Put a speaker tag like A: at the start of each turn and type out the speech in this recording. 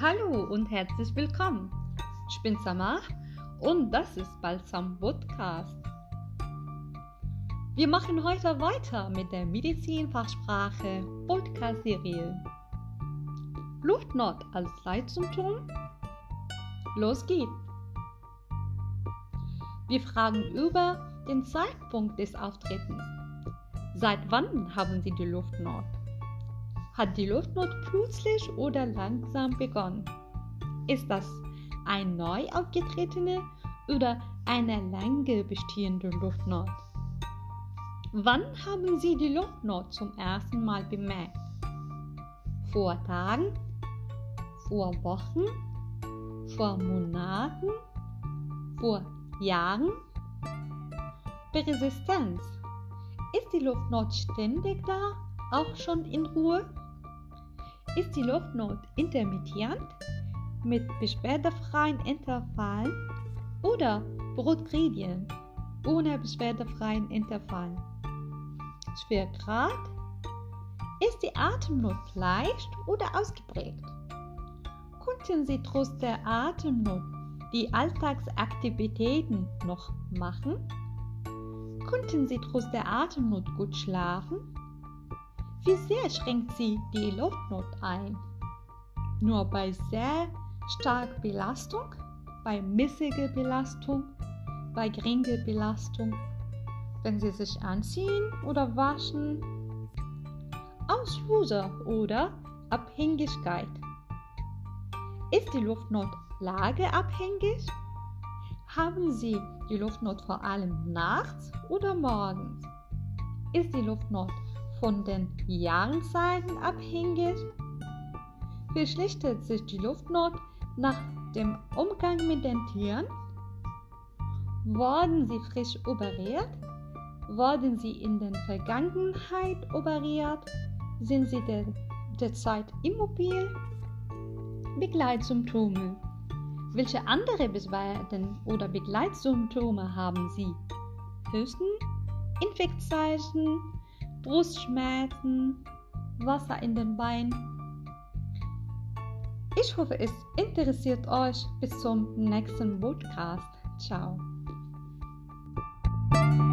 A: Hallo und herzlich willkommen. Ich bin Samar und das ist Balsam Podcast. Wir machen heute weiter mit der Medizinfachsprache Podcast-Serie. Luftnot als Leitsymptom? Los geht's! Wir fragen über den Zeitpunkt des Auftretens. Seit wann haben Sie die Luftnot? Hat die Luftnot plötzlich oder langsam begonnen? Ist das eine neu aufgetretene oder eine lange bestehende Luftnot? Wann haben Sie die Luftnot zum ersten Mal bemerkt? Vor Tagen? Vor Wochen? Vor Monaten? Vor Jahren? Persistenz. Ist die Luftnot ständig da, auch schon in Ruhe? Ist die Luftnot intermittierend mit beschwerdefreien Intervallen oder Brutgradient ohne beschwerdefreien Intervallen? Schwergrad. Ist die Atemnot leicht oder ausgeprägt? Konnten Sie trotz der Atemnot die Alltagsaktivitäten noch machen? Konnten Sie trotz der Atemnot gut schlafen? Wie sehr schränkt sie die Luftnot ein? Nur bei sehr starker Belastung, bei mäßiger Belastung, bei geringer Belastung, wenn Sie sich anziehen oder waschen? Auslöser oder Abhängigkeit. Ist die Luftnot lageabhängig? Haben Sie die Luftnot vor allem nachts oder morgens? Ist die Luftnot von den Jahreszeiten abhängig? Verschlechtert sich die Luftnot nach dem Umgang mit den Tieren? Wurden Sie frisch operiert? Wurden Sie in der Vergangenheit operiert? Sind Sie derzeit immobil? Begleitsymptome. Welche andere Beschwerden oder Begleitsymptome haben Sie? Husten, Infektzeichen, Brustschmerzen, Wasser in den Beinen. Ich hoffe, es interessiert euch. Bis zum nächsten Podcast. Ciao.